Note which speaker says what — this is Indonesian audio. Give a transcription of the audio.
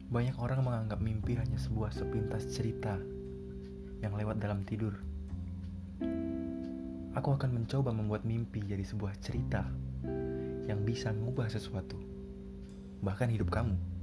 Speaker 1: Banyak orang menganggap mimpi hanya sebuah sepintas cerita yang lewat dalam tidur. Aku akan mencoba membuat mimpi jadi sebuah cerita yang bisa mengubah sesuatu, bahkan hidup kamu.